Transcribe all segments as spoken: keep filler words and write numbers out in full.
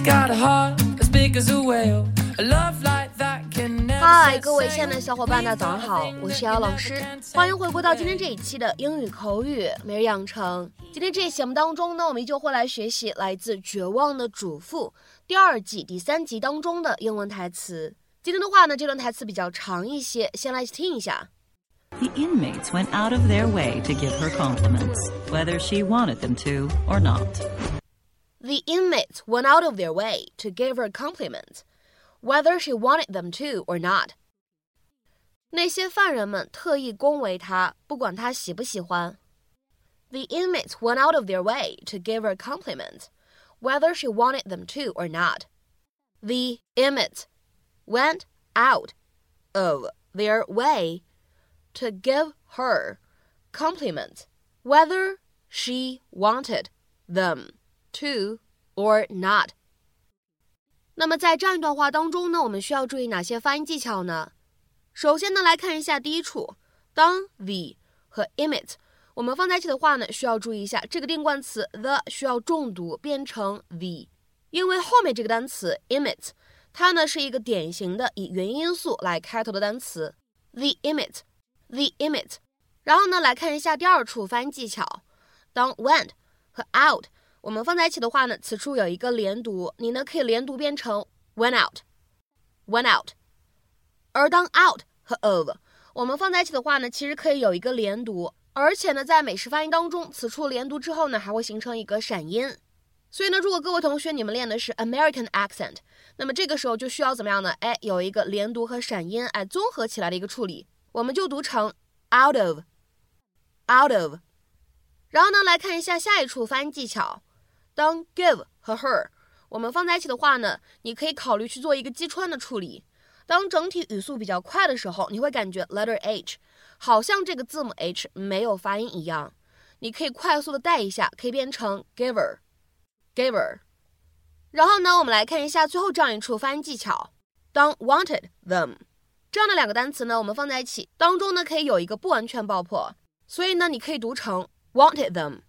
got a heart as big as a whale, a love like that can never 嗨，各位亲爱的小伙伴，大家早上好，我是姚老师，欢迎回归到今天这一期的英语口语每日养成。今天这一期节目当中呢，我们依旧会来学习来自《绝望的主妇》第二季第三集当中的英文台词。今天的话呢，这段台词比较长一些，先来听一下。 The inmates went out of their way to give her compliments, whether she wanted them to or not. The inmates went out of their way to give her compliments, whether she wanted them to or not. 那些犯人们特意恭维她，不管她喜不喜欢。The inmates went out of their way to give her compliments, whether she wanted them to or not. The inmates went out of their way to give her compliments, whether she wanted them to or not. 那么在这样一段话当中呢，我们需要注意哪些发音技巧呢？首先呢，来看一下第一处，当 the 和 inmate 我们放在一起的话呢，需要注意一下这个定冠词 the 需要重读变成 the， 因为后面这个单词 inmate 它呢是一个典型的以元音因素来开头的单词 the inmate the inmate。 然后呢，来看一下第二处发音技巧，当 went 和 out 我们放在一起的话呢，此处有一个连读，你呢可以连读变成 went out went out。 而当 out 和 of 我们放在一起的话呢，其实可以有一个连读，而且呢在美式发音当中，此处连读之后呢还会形成一个闪音。所以呢，如果各位同学你们练的是 American accent， 那么这个时候就需要怎么样呢？哎，有一个连读和闪音哎综合起来的一个处理，我们就读成 out of out of。 然后呢，来看一下下一处发音技巧，当 give 和 her 我们放在一起的话呢，你可以考虑去做一个击穿的处理。当整体语速比较快的时候，你会感觉 letter H 好像这个字母 H 没有发音一样，你可以快速的带一下，可以变成 giver giver。 然后呢，我们来看一下最后这样一处发音技巧，当 wanted them 这样的两个单词呢，我们放在一起当中呢可以有一个不完全爆破，所以呢你可以读成 wanted them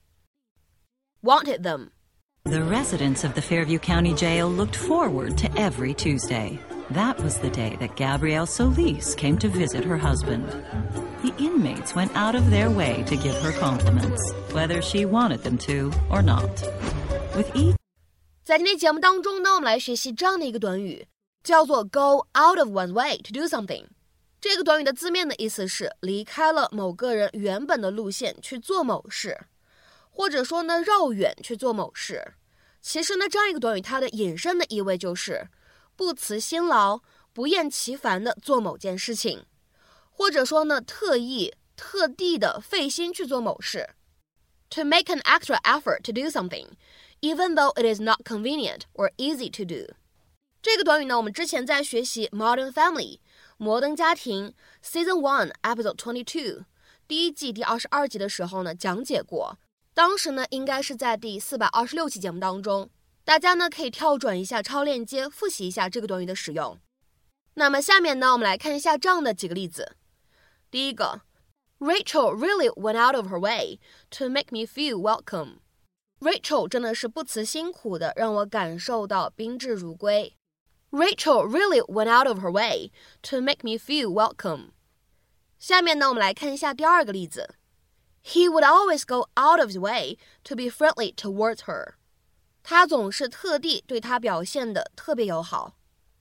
wanted them。 The residents of the Fairview County Jail looked forward to every Tuesday. That was the day that Gabrielle Solis came to visit her husband. The inmates went out of their way to give her compliments, whether she wanted them to or not. With each 在今天节目当中呢，我们来学习这样的一个短语，叫做 go out of one's way to do something。 这个短语的字面的意思是离开了某个人原本的路线去做某事，或者说呢绕远去做某事。其实呢，这样一个短语它的引申的意味就是不辞辛劳不厌其烦的做某件事情，或者说呢特意特地的费心去做某事。 To make an extra effort to do something even though it is not convenient or easy to do。 这个短语呢，我们之前在学习 Modern Family 摩登家庭 Season one Episode twenty-two 第一季第二十二集的时候呢讲解过，当时呢应该是在第四百二十六期节目当中，大家呢可以跳转一下超链接复习一下这个短语的使用。那么下面呢，我们来看一下这样的几个例子。第一个， Rachel really went out of her way to make me feel welcome。 Rachel 真的是不辞辛苦的让我感受到宾至如归。 Rachel really went out of her way to make me feel welcome。 下面呢，我们来看一下第二个例子， He would always go out of his way to be friendly towards her。他总是特地对他表现得特别友好。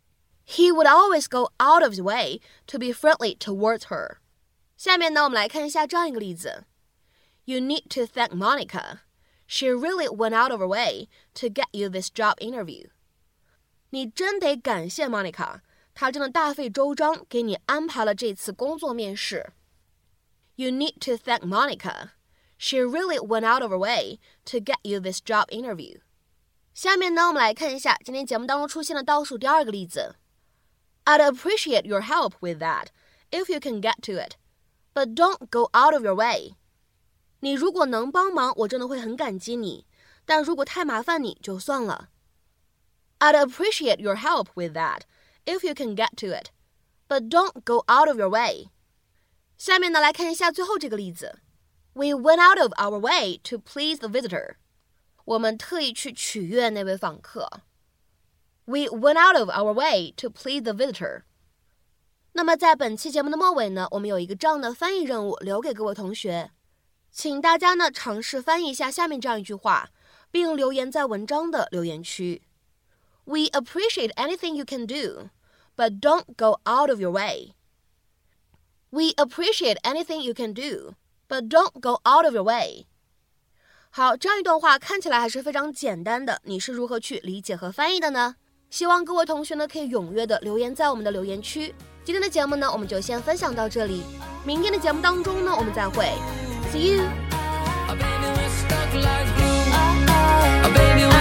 He would always go out of his way to be friendly towards her。 下面呢，我们来看一下这样一个例子， You need to thank Monica. She really went out of her way to get you this job interview。 你真得感谢 Monica， 她真的大费周章给你安排了这次工作面试。 You need to thank Monica. She really went out of her way to get you this job interview。下面呢，我们来看一下今天节目当中出现的倒数第二个例子， I'd appreciate your help with that if you can get to it, but don't go out of your way。 你如果能帮忙，我真的会很感激你，但如果太麻烦你就算了。 I'd appreciate your help with that if you can get to it, but don't go out of your way。 下面呢，来看一下最后这个例子， We went out of our way to please the visitor。我们特意去取悦那位访客。 We went out of our way to please the visitor. 那么在本期节目的末尾呢，我们有一个这样的翻译任务留给各位同学，请大家呢尝试翻译一下下面这样一句话，并留言在文章的留言区。We appreciate anything you can do, but don't go out of your way. We appreciate anything you can do, but don't go out of your way. 好，这样一段话看起来还是非常简单的，你是如何去理解和翻译的呢？希望各位同学呢可以踊跃的留言在我们的留言区。今天的节目呢，我们就先分享到这里。明天的节目当中呢，我们再会。See you.